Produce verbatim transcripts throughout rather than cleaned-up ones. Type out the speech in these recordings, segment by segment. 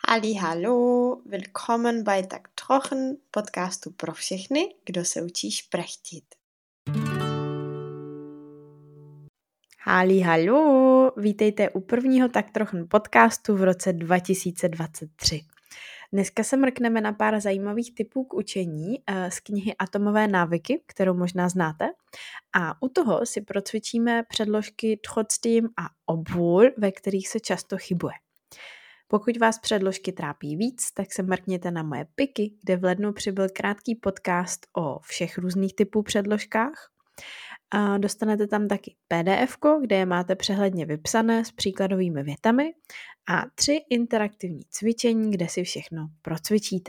Halli, hallo, willkommen bei Tak Trochen, podcastu pro všechny, kdo se učí šprechtit. Halli, hallo, vítejte u prvního Tak Trochen podcastu v roce dva tisíce dvacet tři. Dneska se mrkneme na pár zajímavých typů k učení z knihy Atomové návyky, kterou možná znáte. A u toho si procvičíme předložky trotzdem a obwohl, ve kterých se často chybuje. Pokud vás předložky trápí víc, tak se mrkněte na moje piky, kde v lednu přibyl krátký podcast o všech různých typů předložkách. A dostanete tam taky pé dé efko, kde je máte přehledně vypsané s příkladovými větami a tři interaktivní cvičení, kde si všechno procvičíte.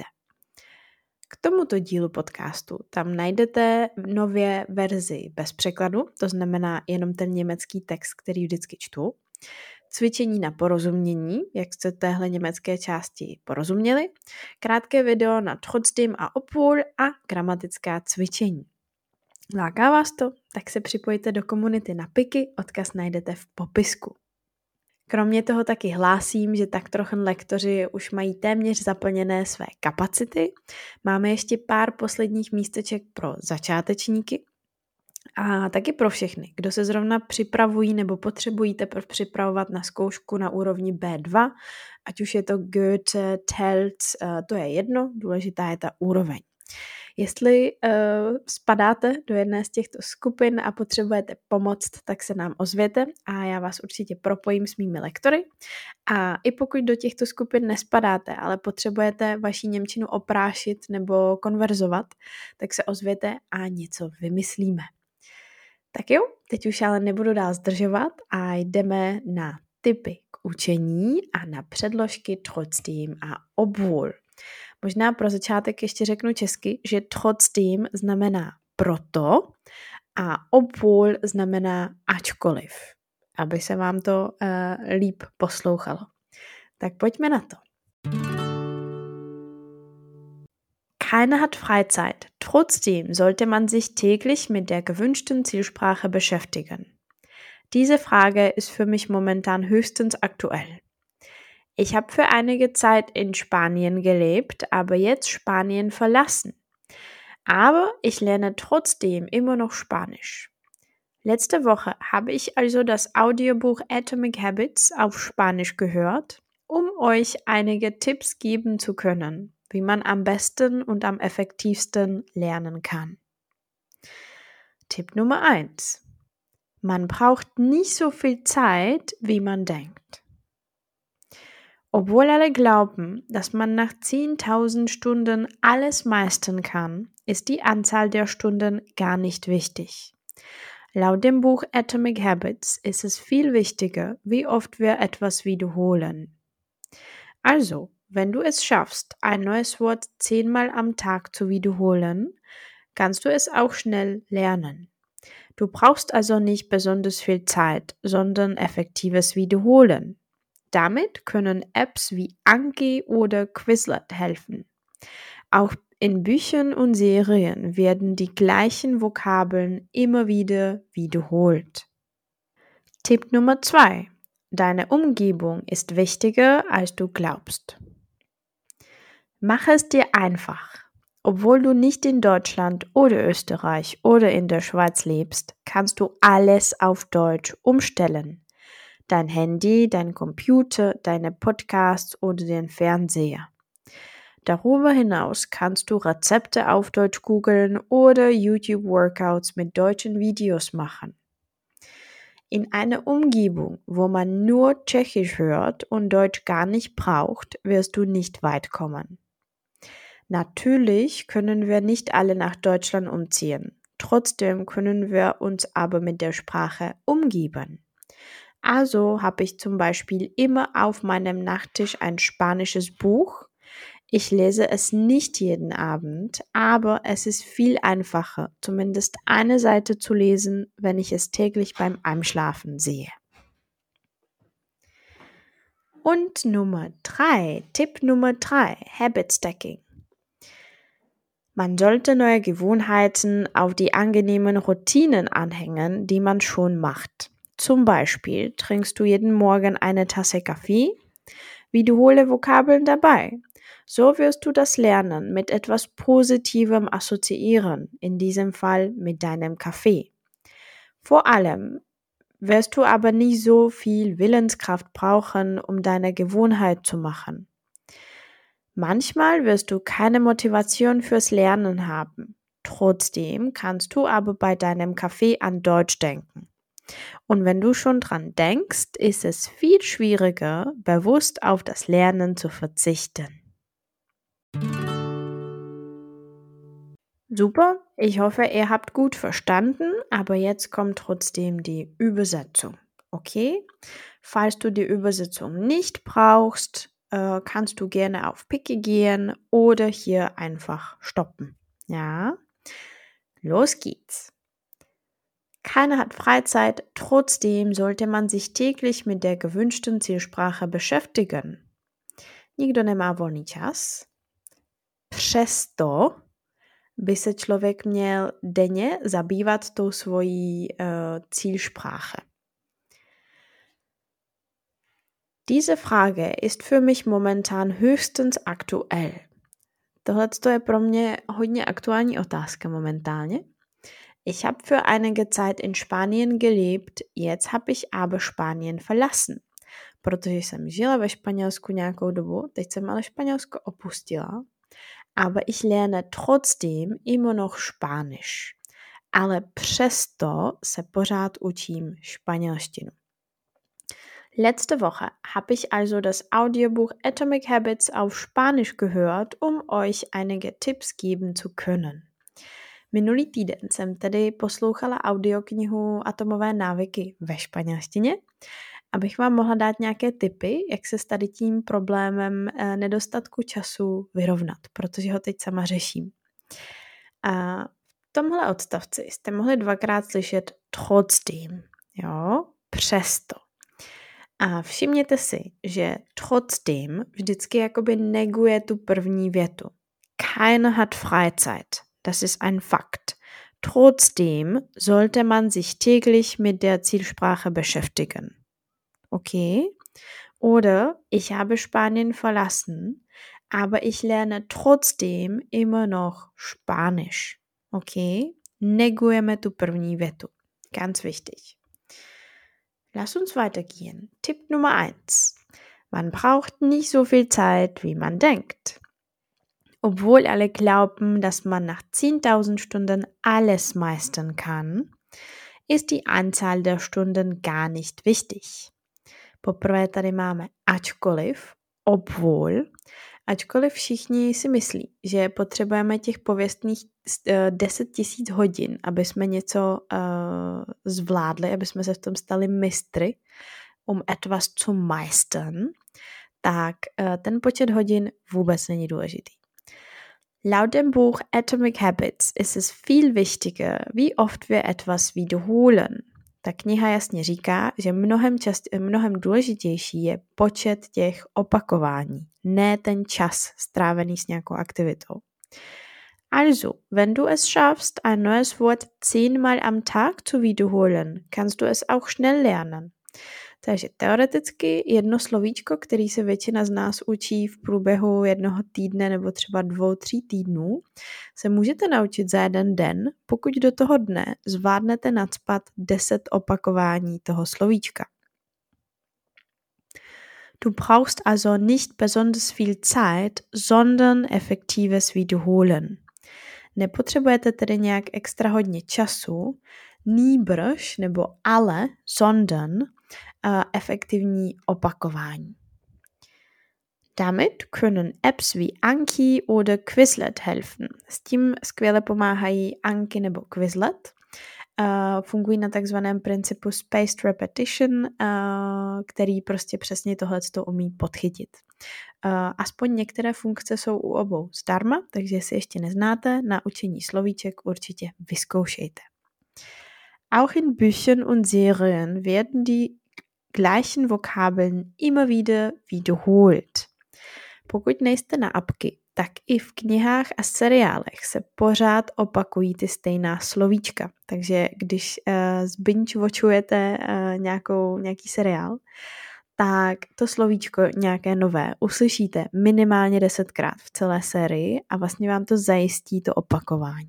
K tomuto dílu podcastu tam najdete nově verzi bez překladu, to znamená jenom ten německý text, který vždycky čtu, cvičení na porozumění, jak jste téhle německé části porozuměli, krátké video na trotzdem a obwohl a gramatická cvičení. Láká vás to? Tak se připojte do komunity na piky, odkaz najdete v popisku. Kromě toho taky hlásím, že tak trochu lektoři už mají téměř zaplněné své kapacity. Máme ještě pár posledních místeček pro začátečníky a taky pro všechny, kdo se zrovna připravují nebo potřebují teprve připravovat na zkoušku na úrovni bé dva, ať už je to Goethe, Telc, to je jedno, důležitá je ta úroveň. Jestli uh, spadáte do jedné z těchto skupin a potřebujete pomoct, tak se nám ozvěte a já vás určitě propojím s mými lektory. A i pokud do těchto skupin nespadáte, ale potřebujete vaši němčinu oprášit nebo konverzovat, tak se ozvěte a něco vymyslíme. Tak jo, teď už ale nebudu dál zdržovat a jdeme na tipy k učení a na předložky trotzdem a obwohl. Možná pro začátek ještě řeknu česky, že trotzdem znamená proto a obwohl znamená ačkoliv, aby se vám to uh, líp poslouchalo. Tak pojďme na to. Keiner hat Freizeit. Trotzdem sollte man sich täglich mit der gewünschten Zielsprache beschäftigen. Diese Frage ist für mich momentan höchstens aktuell. Ich habe für einige Zeit in Spanien gelebt, aber jetzt Spanien verlassen. Aber ich lerne trotzdem immer noch Spanisch. Letzte Woche habe ich also das Audiobuch Atomic Habits auf Spanisch gehört, um euch einige Tipps geben zu können, wie man am besten und am effektivsten lernen kann. Tipp Nummer eins. Man braucht nicht so viel Zeit, wie man denkt. Obwohl alle glauben, dass man nach zehntausend Stunden alles meistern kann, ist die Anzahl der Stunden gar nicht wichtig. Laut dem Buch Atomic Habits ist es viel wichtiger, wie oft wir etwas wiederholen. Also, wenn du es schaffst, ein neues Wort zehnmal am Tag zu wiederholen, kannst du es auch schnell lernen. Du brauchst also nicht besonders viel Zeit, sondern effektives Wiederholen. Damit können Apps wie Anki oder Quizlet helfen. Auch in Büchern und Serien werden die gleichen Vokabeln immer wieder wiederholt. Tipp Nummer zwei. Deine Umgebung ist wichtiger, als du glaubst. Mach es dir einfach. Obwohl du nicht in Deutschland oder Österreich oder in der Schweiz lebst, kannst du alles auf Deutsch umstellen. Dein Handy, dein Computer, deine Podcasts oder den Fernseher. Darüber hinaus kannst du Rezepte auf Deutsch googeln oder YouTube-Workouts mit deutschen Videos machen. In einer Umgebung, wo man nur Tschechisch hört und Deutsch gar nicht braucht, wirst du nicht weit kommen. Natürlich können wir nicht alle nach Deutschland umziehen. Trotzdem können wir uns aber mit der Sprache umgeben. Also habe ich zum Beispiel immer auf meinem Nachttisch ein spanisches Buch. Ich lese es nicht jeden Abend, aber es ist viel einfacher, zumindest eine Seite zu lesen, wenn ich es täglich beim Einschlafen sehe. Und Nummer drei, Tipp Nummer drei, Habit Stacking. Man sollte neue Gewohnheiten auf die angenehmen Routinen anhängen, die man schon macht. Zum Beispiel trinkst du jeden Morgen eine Tasse Kaffee. Wiederhole Vokabeln dabei. So wirst du das Lernen mit etwas Positivem assoziieren, in diesem Fall mit deinem Kaffee. Vor allem wirst du aber nicht so viel Willenskraft brauchen, um deine Gewohnheit zu machen. Manchmal wirst du keine Motivation fürs Lernen haben. Trotzdem kannst du aber bei deinem Kaffee an Deutsch denken. Und wenn du schon dran denkst, ist es viel schwieriger, bewusst auf das Lernen zu verzichten. Super, ich hoffe, ihr habt gut verstanden, aber jetzt kommt trotzdem die Übersetzung. Okay? Falls du die Übersetzung nicht brauchst, äh, kannst du gerne auf Picke gehen oder hier einfach stoppen. Ja? Los geht's. Keiner hat Freizeit, trotzdem sollte man sich täglich mit der gewünschten Zielsprache beschäftigen. Nikdo nemá volný čas. Přesto by se člověk měl denně zabývat tou svojí uh, Zielsprache. Diese Frage ist für mich momentan höchstens aktuell. Tohle je pro mě hodně aktuální otázka momentálně. Ich habe für einige Zeit in Spanien gelebt, jetzt habe ich aber Spanien verlassen. Protože jsem žila ve Španělsku nějakou dobu, teď jsem ale Španělsko opustila. Aber ich lerne trotzdem immer noch Spanisch. Ale přesto se pořád učím španělštinu. Letzte Woche habe ich also das Audiobuch Atomic Habits auf Spanisch gehört, um euch einige Tipps geben zu können. Minulý týden jsem tedy poslouchala audioknihu Atomové návyky ve španělštině, abych vám mohla dát nějaké tipy, jak se s tady tím problémem nedostatku času vyrovnat, protože ho teď sama řeším. A v tomhle odstavci jste mohli dvakrát slyšet trotzdem, jo, přesto. A všimněte si, že trotzdem vždycky jakoby neguje tu první větu. Keiner hat Freizeit. Das ist ein Fakt. Trotzdem sollte man sich täglich mit der Zielsprache beschäftigen. Okay? Oder ich habe Spanien verlassen, aber ich lerne trotzdem immer noch Spanisch. Okay? Negujeme tu první větu. Ganz wichtig. Lass uns weitergehen. Tipp Nummer eins. Man braucht nicht so viel Zeit, wie man denkt. Obwohl alle glauben, dass man nach zehntausend Stunden alles meistern kann, ist die Anzahl der Stunden gar nicht wichtig. Poprvé tady máme ačkoliv, obwohl. Ačkoliv všichni si myslí, že potřebujeme těch pověstných deset tisíc hodin, aby jsme něco uh, zvládli, aby jsme se v tom stali mistry, um etwas zu meistern, tak uh, ten počet hodin vůbec není důležitý. Laut dem Buch Atomic Habits ist es viel wichtiger, wie oft wir etwas wiederholen. Ta kniha jasně říká, že mnohem, čast, mnohem důležitější je počet těch opakování, ne ten čas strávený s nějakou aktivitou. Also, wenn du es schaffst, ein neues Wort zehnmal am Tag zu wiederholen, kannst du es auch schnell lernen. Takže teoreticky jedno slovíčko, který se většina z nás učí v průběhu jednoho týdne nebo třeba dvou, tří týdnů, se můžete naučit za jeden den, pokud do toho dne zvládnete nacpat deset opakování toho slovíčka. Du brauchst also nicht besonders viel Zeit, sondern effektives Wiederholen. Nepotřebujete tedy nějak extra hodně času, nýbrž nebo ale, sondern uh, efektivní opakování. Damit können Apps wie Anki oder Quizlet helfen. S tím skvěle pomáhají Anki nebo Quizlet. Uh, fungují na takzvaném principu spaced repetition, uh, který prostě přesně tohleto umí podchytit. Uh, aspoň některé funkce jsou u obou zdarma, takže jestli ještě neznáte, na učení slovíček určitě vyzkoušejte. Auch in Büchern und Serien werden die gleichen Vokabeln immer wieder wiederholt. Pokud nejste na apky, tak i v knihách a seriálech se pořád opakují ty stejná slovíčka. Takže když uh, zbinge-watchujete uh, nějakou, nějaký seriál, tak to slovíčko nějaké nové uslyšíte minimálně desetkrát v celé sérii a vlastně vám to zajistí to opakování.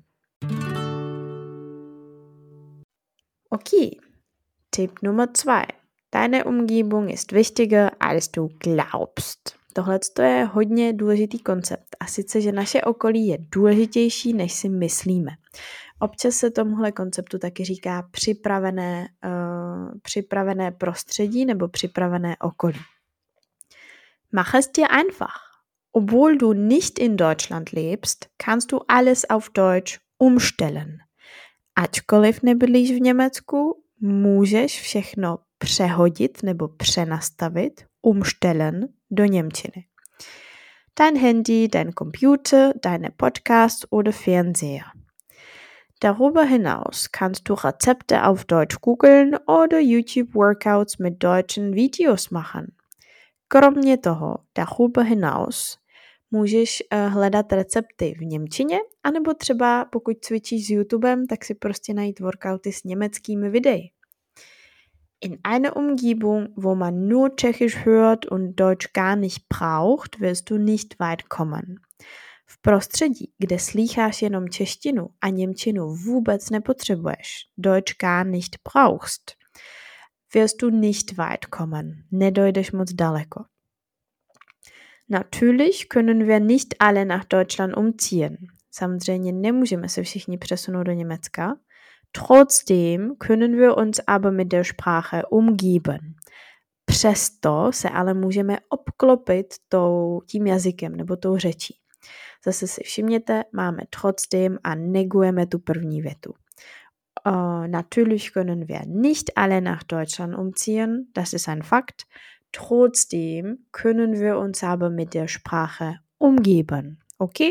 Okay, Tipp Nummer zwei. Deine Umgebung ist wichtiger, als du glaubst. Tohle je hodně důležitý koncept a sice, že naše okolí je důležitější, než si myslíme. Občas se tomuhle konceptu taky říká připravené, uh, připravené prostředí nebo připravené okolí. Mach es dir einfach. Obwohl du nicht in Deutschland lebst, kannst du alles auf Deutsch umstellen. Ačkoliv nebydlíš v Německu, můžeš všechno přehodit nebo přenastavit, umstellen, do němčiny. Dein Handy, dein Computer, deine Podcasts oder Fernseher. Darüber hinaus kannst du Rezepte auf Deutsch googeln oder YouTube Workouts mit deutschen Videos machen. Kromě toho, darüber hinaus, můžeš uh, hledat recepty v němčině, anebo třeba pokud cvičíš s YouTubem, tak si prostě najít workouty s německými videi. In einer Umgebung, wo man nur Tschechisch hört und Deutsch gar nicht braucht, wirst du nicht weit kommen. V prostředí, kde slýcháš jenom češtinu a němčinu vůbec nepotřebuješ, Deutsch gar nicht brauchst, wirst du nicht weit kommen. Nedojdeš moc daleko. Natürlich können wir nicht alle nach Deutschland umziehen. Samozřejmě nemůžeme se všichni přesunout do Německa. Trotzdem können wir uns aber mit der Sprache umgeben. Přesto se ale můžeme obklopit tou, tím jazykem nebo tou řečí. Zase si všimněte, máme trotzdem a negujeme tu první větu. Uh, natürlich können wir nicht alle nach Deutschland umziehen, das ist ein Fakt. Trotzdem können wir uns aber mit der Sprache umgeben. Okay?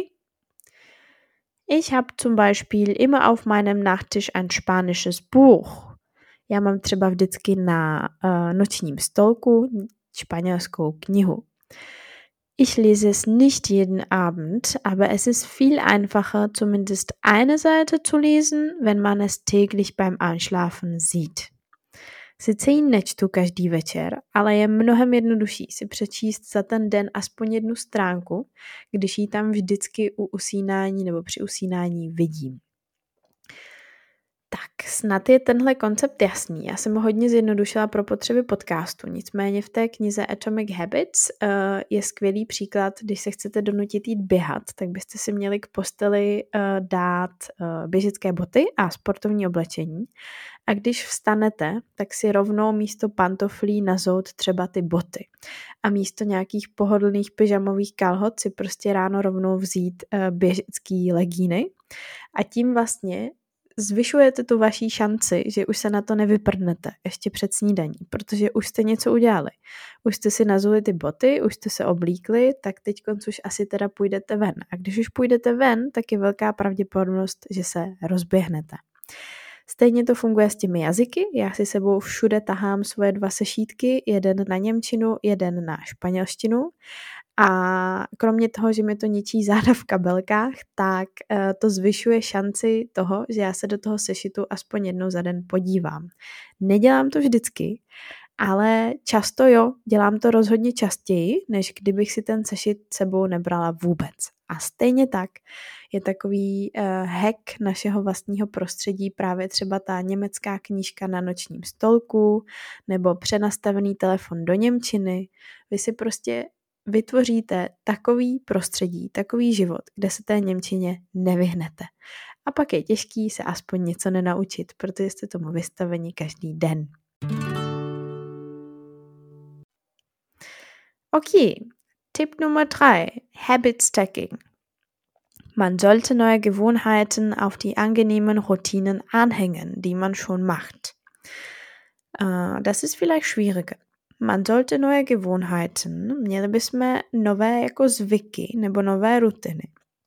Ich habe zum Beispiel immer auf meinem Nachttisch ein spanisches Buch. Já mám třeba vždycky na uh, nočním stolku španělskou knihu. Ich lese es nicht jeden Abend, aber es ist viel einfacher, zumindest eine Seite zu lesen, wenn man es täglich beim Einschlafen sieht. Sice ji nečtu každý večer, ale je mnohem jednodušší si přečíst za ten den aspoň jednu stránku, když ji tam vždycky u usínání nebo při usínání vidím. Tak, snad je tenhle koncept jasný. Já jsem ho hodně zjednodušila pro potřeby podcastu, nicméně v té knize Atomic Habits uh, je skvělý příklad, když se chcete donutit jít běhat, tak byste si měli k posteli uh, dát uh, běžecké boty a sportovní oblečení. A když vstanete, tak si rovnou místo pantoflí nazout třeba ty boty. A místo nějakých pohodlných pyžamových kalhot si prostě ráno rovnou vzít uh, běžecký legíny. A tím vlastně zvyšujete tu vaší šanci, že už se na to nevyprdnete ještě před snídaní, protože už jste něco udělali. Už jste si nazuli ty boty, už jste se oblíkli, tak teď už asi teda půjdete ven. A když už půjdete ven, tak je velká pravděpodobnost, že se rozběhnete. Stejně to funguje s těmi jazyky. Já si sebou všude tahám svoje dva sešítky, jeden na němčinu, jeden na španělštinu. A kromě toho, že mi to ničí záda v kabelkách, tak uh, to zvyšuje šanci toho, že já se do toho sešitu aspoň jednou za den podívám. Nedělám to vždycky, ale často jo, dělám to rozhodně častěji, než kdybych si ten sešit sebou nebrala vůbec. A stejně tak je takový uh, hack našeho vlastního prostředí právě třeba ta německá knížka na nočním stolku nebo přenastavený telefon do němčiny. Vy si prostě vytvoříte takový prostředí, takový život, kde se té němčině nevyhnete. A pak je těžký se aspoň něco nenaučit, protože jste tomu vystaveni každý den. Okay, Tipp Nummer drei, Habit Stacking. Man sollte neue Gewohnheiten auf die angenehmen Routinen anhängen, die man schon macht. Uh, das ist vielleicht schwieriger. Man sollte neue Gewohnheiten, měli bychom nové jako zvyky nebo nové rutiny.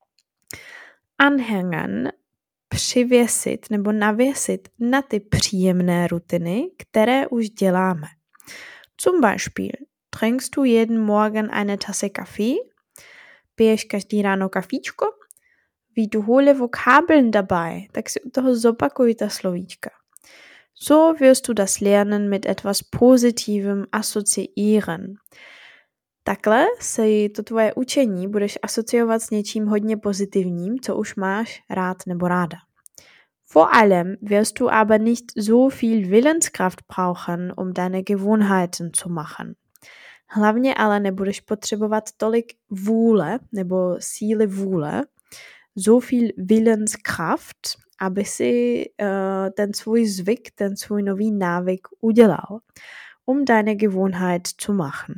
Anhängen, přivěsit nebo navěsit na ty příjemné rutiny, které už děláme. Zum Beispiel, trinkst du jeden Morgen eine Tasse Kaffee? Piješ každý ráno kafíčko? Wiederhole Vokabeln dabei, tak si u toho zopakuj ta slovíčka. So wirst du das Lernen mit etwas Positivem assoziieren. Takhle si to tvoje učení budeš asociovat s něčím hodně pozitivním, co už máš rád nebo ráda. Vor allem wirst du aber nicht so viel Willenskraft brauchen, um deine Gewohnheiten zu machen. Hlavně ale nebudeš potřebovat tolik vůle nebo síly vůle, so viel Willenskraft, aby si uh, ten svůj zvyk, ten svůj nový návyk udělal, um deine Gewohnheit zu machen.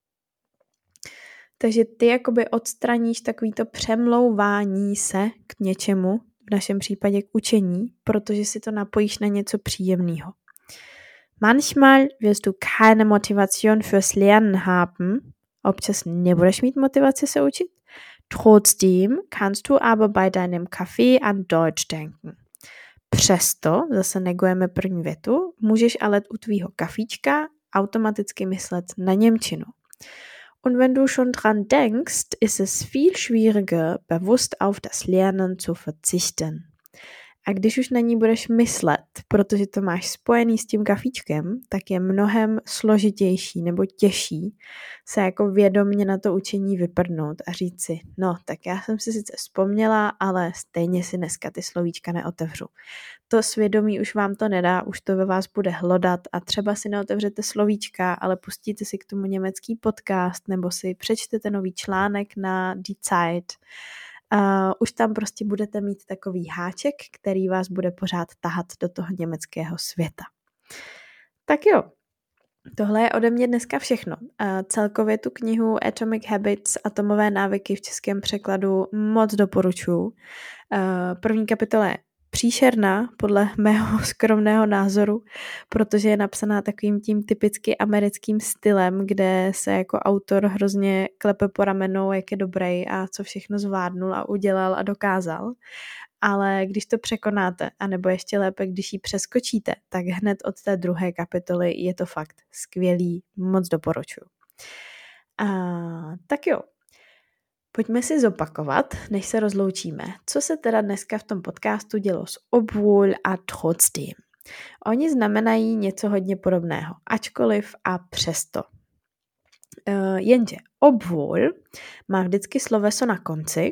Takže ty jakoby odstraníš takovýto přemlouvání se k něčemu, v našem případě k učení, protože si to napojíš na něco příjemného. Manchmal wirst du keine Motivation fürs Lernen haben, občas nebudeš mít motivaci se učit. Trotzdem kannst du aber bei deinem Kaffee an Deutsch denken. Přesto, zase negujeme první větu, můžeš ale u tvýho kafíčka automaticky myslet na němčinu. Und wenn du schon dran denkst, ist es viel schwieriger, bewusst auf das Lernen zu verzichten. A když už na ní budeš myslet, protože to máš spojený s tím kafíčkem, tak je mnohem složitější nebo těžší se jako vědomně na to učení vyprdnout a říct si, no tak já jsem si sice vzpomněla, ale stejně si dneska ty slovíčka neotevřu. To svědomí už vám to nedá, už to ve vás bude hlodat a třeba si neotevřete slovíčka, ale pustíte si k tomu německý podcast nebo si přečtete nový článek na Die Zeit. Uh, už tam prostě budete mít takový háček, který vás bude pořád tahat do toho německého světa. Tak jo, tohle je ode mě dneska všechno. Uh, celkově tu knihu Atomic Habits, atomové návyky v českém překladu moc doporučuji. Uh, první kapitola je příšerná, podle mého skromného názoru, protože je napsaná takovým tím typicky americkým stylem, kde se jako autor hrozně klepe po ramenou, jak je dobrý a co všechno zvládnul a udělal a dokázal. Ale když to překonáte, anebo ještě lépe, když ji přeskočíte, tak hned od té druhé kapitoly je to fakt skvělý, moc doporučuji. A, tak jo. Pojďme si zopakovat, než se rozloučíme, co se teda dneska v tom podcastu dělo s obwohl a trotzdem. Oni znamenají něco hodně podobného, ačkoliv a přesto. Uh, jenže obwohl má vždycky sloveso na konci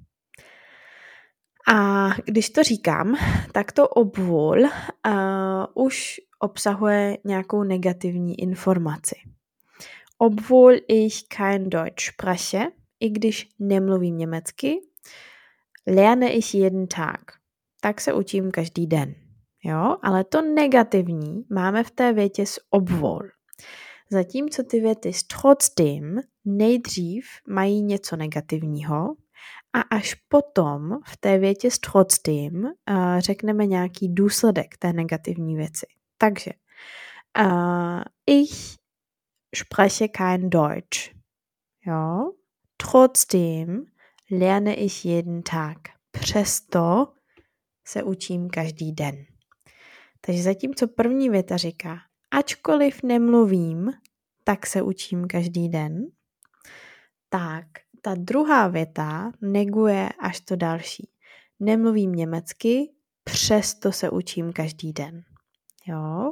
a když to říkám, tak to obwohl uh, už obsahuje nějakou negativní informaci. Obwohl ich kein Deutsch spreche, i když nemluvím německy, lerne ich jeden Tag. Tak se učím každý den. Jo? Ale to negativní máme v té větě s obwohl. Zatímco ty věty s trotzdem nejdřív mají něco negativního a až potom v té větě s trotzdem uh, řekneme nějaký důsledek té negativní věci. Takže uh, ich spreche kein Deutsch. Jo? Trotzdem lerne ich jeden Tag. Přesto se učím každý den. Takže zatímco první věta říká, ačkoliv nemluvím, tak se učím každý den, tak ta druhá věta neguje až to další. Nemluvím německy, přesto se učím každý den. Jo?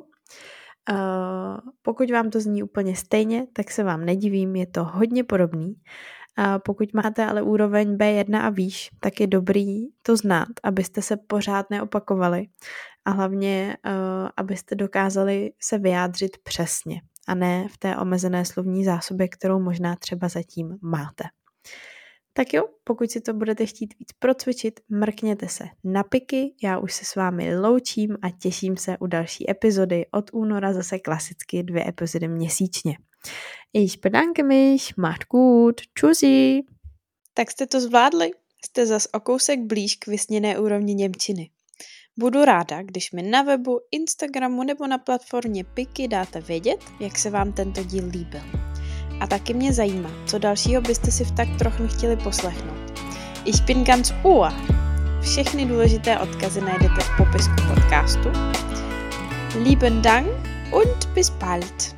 Uh, pokud vám to zní úplně stejně, tak se vám nedivím, je to hodně podobný. Uh, pokud máte ale úroveň bé jedna a výš, tak je dobrý to znát, abyste se pořád neopakovali a hlavně, uh, abyste dokázali se vyjádřit přesně a ne v té omezené slovní zásobě, kterou možná třeba zatím máte. Tak jo, pokud si to budete chtít víc procvičit, mrkněte se na piky, já už se s vámi loučím a těším se u další epizody. Od února zase klasicky dvě epizody měsíčně. Ich bedanke mich, macht gut, tschüssi. Tak jste to zvládli? Jste zas o kousek blíž k vysněné úrovni němčiny. Budu ráda, když mi na webu, Instagramu nebo na platformě Piky dáte vědět, jak se vám tento díl líbil. A taky mě zajímá, co dalšího byste si v tak trochu chtěli poslechnout. Ich bin ganz ohr. Všechny důležité odkazy najdete v popisku podcastu. Lieben Dank und bis bald.